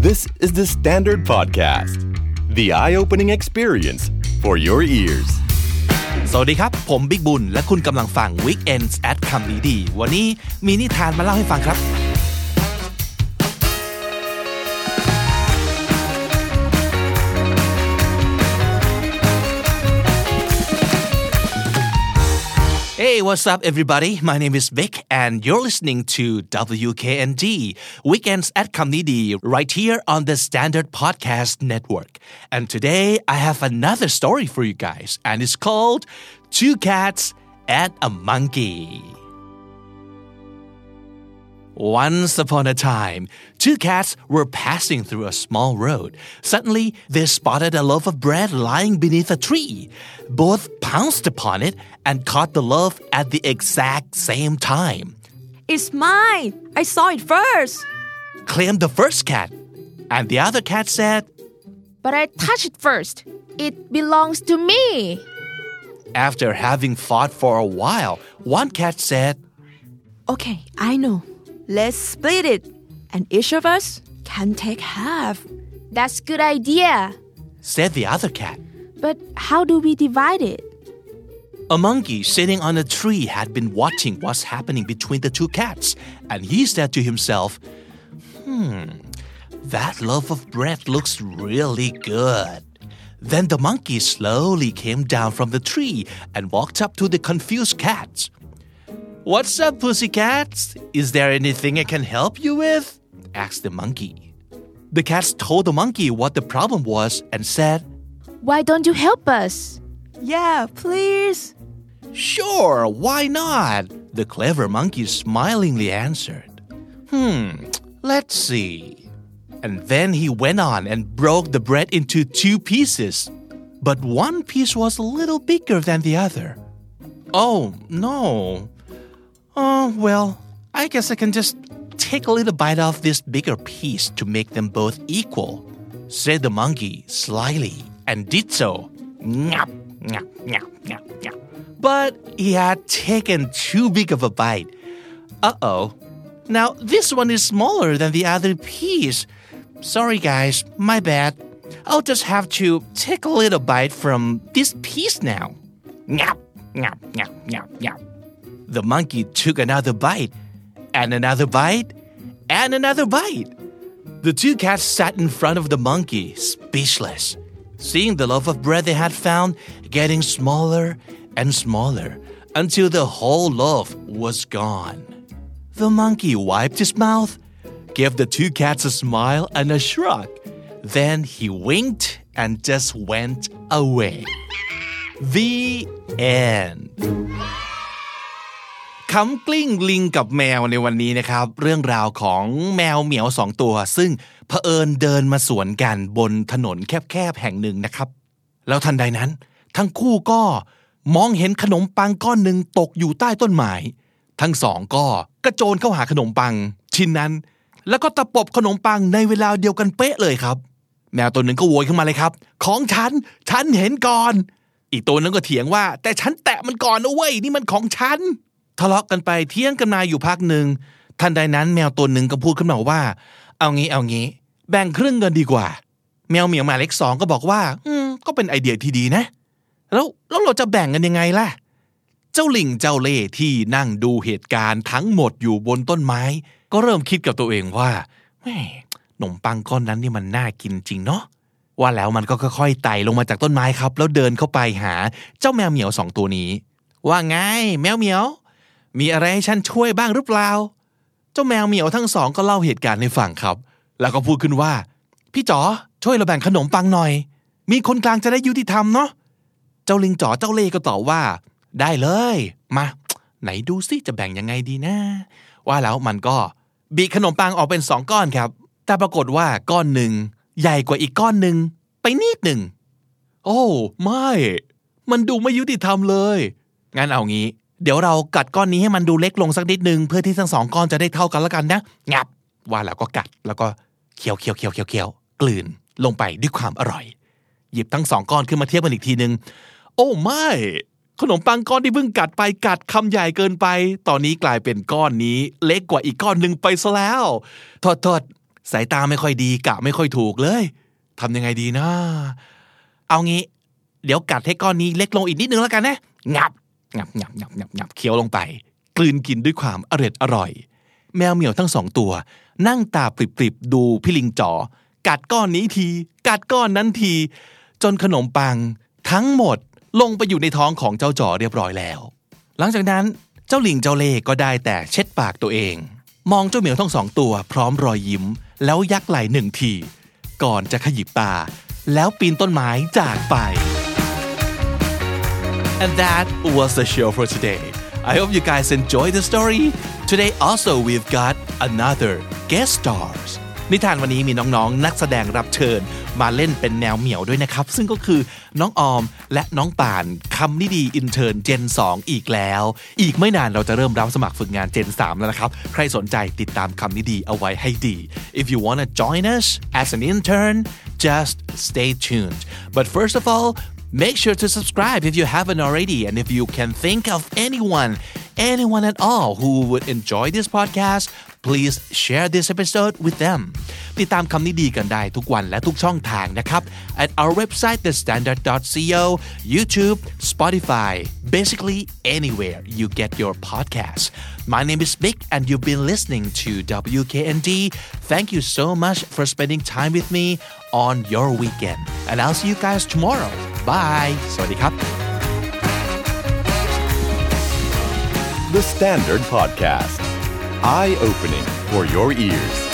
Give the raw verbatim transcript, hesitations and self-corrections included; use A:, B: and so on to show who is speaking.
A: This is the Standard Podcast, the eye-opening experience for your ears.
B: สวัสดีครับผมบิ๊กบุญและคุณกำลังฟัง Weekends at คำนี้ดีวันนี้มีนิทานมาเล่าให้ฟังครับHey, what's up, everybody? My name is Vic, and you're listening to W K N D Weekends at Kamnidi right here on the Standard Podcast Network. And today, I have another story for you guys, and it's called Two Cats and a Monkey. Once upon a time, two cats were passing through a small road. Suddenly, they spotted a loaf of bread lying beneath a tree. Both pounced upon it and caught the loaf at the exact same time.
C: It's mine! I saw it first!
B: Claimed the first cat. And the other cat said,
C: But I touched it first. It belongs to me.
B: After having fought for a while, one cat said,
C: Okay, I know. Let's split it, and each of us can take half. That's a good idea,
B: said the other cat.
C: But how do we divide it?
B: A monkey sitting on a tree had been watching what's happening between the two cats, and he said to himself, Hmm, that loaf of bread looks really good. Then the monkey slowly came down from the tree and walked up to the confused cats. What's up, pussycats? Is there anything I can help you with? Asked the monkey. The cats told the monkey what the problem was and said,
C: Why don't you help us? Yeah, please.
B: Sure, why not? The clever monkey smilingly answered. Hmm, let's see. And then he went on and broke the bread into two pieces. But one piece was a little bigger than the other. Oh, no. Oh, well, I guess I can just take a little bite off this bigger piece to make them both equal, said the monkey slyly, and did so. Nyap, nyap, nyap, nyap, nyap. But he had taken too big of a bite. Uh-oh. Now, this one is smaller than the other piece. Sorry, guys, my bad. I'll just have to take a little bite from this piece now. Nyap, nyap, nyap, nyap, nyap. The monkey took another bite, and another bite, and another bite. The two cats sat in front of the monkey, speechless, seeing the loaf of bread they had found getting smaller and smaller until the whole loaf was gone. The monkey wiped his mouth, gave the two cats a smile and a shrug. Then he winked and just went away. The end.คำกลิ้งลิงกับแมวในวันนี้นะครับเรื่องราวของแมวเหมียวสองตัวซึ่งเผอิญเดินมาสวนกันบนถนนแคบๆแห่งหนึ่งนะครับแล้วทันใดนั้นทั้งคู่ก็มองเห็นขนมปังก้อนหนึ่งตกอยู่ใต้ต้นไม้ทั้งสองก็กระโจนเข้าหาขนมปังชิ้นนั้นแล้วก็ตะปบขนมปังในเวลาเดียวกันเป๊ะเลยครับแมวตัวหนึ่งก็โวยขึ้นมาเลยครับของฉันฉันเห็นก่อนอีกตัวนึงก็เถียงว่าแต่ฉันแตะมันก่อนนะเว้ยนี่มันของฉันทะเลาะกันไปเถียงกันมาอยู่พักหนึ่งทันใดนั้นแมวตัวหนึ่งก็พูดขึ้นมาว่าเอางี้เอางี้แบ่งครึ่งกันดีกว่าแมวเหมียวหมายเลขสองก็บอกว่าอืมก็เป็นไอเดียที่ดีนะแล้วแล้วเราจะแบ่งกันยังไงล่ะเจ้าลิงเจ้าเล่ที่นั่งดูเหตุการณ์ทั้งหมดอยู่บนต้นไม้ก็เริ่มคิดกับตัวเองว่าแหมขนมปังก้อนนั้นนี่มันน่ากินจริงเนาะว่าแล้วมันก็ค่อยๆไต่ลงมาจากต้นไม้ครับแล้วเดินเข้าไปหาเจ้าแมวเหมียวสองตัวนี้ว่าไงแมวเหมียวมีอะไรให้ฉันช่วยบ้างหรือเปล่าเจ้าแมวเหมียวทั้งสองก็เล่าเหตุการณ์ให้ฟังครับแล้วก็พูดขึ้นว่าพี่จ๋อช่วยเราแบ่งขนมปังหน่อยมีคนกลางจะได้ยุติธรรมเนาะเจ้าลิงจ๋อเจ้าเล่ก็ตอบว่าได้เลยมาไหนดูสิจะแบ่งยังไงดีนะว่าแล้วมันก็บีบขนมปังออกเป็นสองก้อนครับแต่ปรากฏว่าก้อนหนึ่งใหญ่กว่าอีกก้อนหนึ่งไปนิดหนึ่งโอ้ไม่มันดูไม่ยุติธรรมเลยงั้นเอางี้เดี๋ยวเรากัดก้อนนี้ให้มันดูเล็กลงสักนิดนึงเพื่อที่ทั้งสองก้อนจะได้เท่ากันแล้วกันนะงับว่าแล้วก็กัดแล้วก็เคี้ยวเคี้ยวเคี้ยวเคี้ยวเคี้ยวกลืนลงไปด้วยความอร่อยหยิบทั้งสองก้อนขึ้นมาเทียบกันอีกทีนึงโอ้ไม่ขนมปังก้อนที่เพิ่งกัดไปกัดคำใหญ่เกินไปตอนนี้กลายเป็นก้อนนี้เล็กกว่าอีกก้อนนึงไปซะแล้วโทษสายตาไม่ค่อยดีกะไม่ค่อยถูกเลยทำยังไงดีนะเอางี้เดี๋ยวกัดให้ก้อนนี้เล็กลงอีกนิดนึงแล้วกันนะงับงับงับงับงับงับเคี้ยวลงไปกลืนกินด้วยความอร่อยอร่อยแมวเหมียวทั้งสองตัวนั่งตาปริบๆดูพี่ลิงจ๋อกัดก้อนนี้ทีกัดก้อนนั้นทีจนขนมปังทั้งหมดลงไปอยู่ในท้องของเจ้าจ๋อเรียบร้อยแล้วหลังจากนั้นเจ้าลิงเจ้าเล่ก็ได้แต่เช็ดปากตัวเองมองเจ้าเหมียวทั้งสองตัวพร้อมรอยยิ้มแล้วยักไหล่หนึ่งทีก่อนจะขยิบตาแล้วปีนต้นไม้จากไป And that was the show for today. I hope you guys enjoyed the story. Today also we've got another guest stars. นิทานวันนี้มีน้องๆนักแสดงรับเชิญมาเล่นเป็นแมวเหมียวด้วยนะครับซึ่งก็คือน้องออมและน้องป่านคำนิดีอินเทิร์นเจนสองอีกแล้วอีกไม่นานเราจะเริ่มรับสมัครฝึกงานเจนสามแล้วนะครับใครสนใจติดตามคำนิดีเอาไว้ให้ดี If you want to join us as an intern just stay tuned but first of all make sure to subscribe if you haven't already and if you can think of anyone anyone at all who would enjoy this podcast please share this episode with them ติดตามคำนี้ดีกันได้ทุกวันและทุกช่องทางนะครับ at our website the standard dot co YouTube Spotify basically anywhere you get your podcasts my name is Mick and you've been listening to W K N D thank you so much for spending time with me on your weekend and I'll see you guys tomorrow bye สวัสดีครับ
A: The Standard Podcast Eye-opening for your ears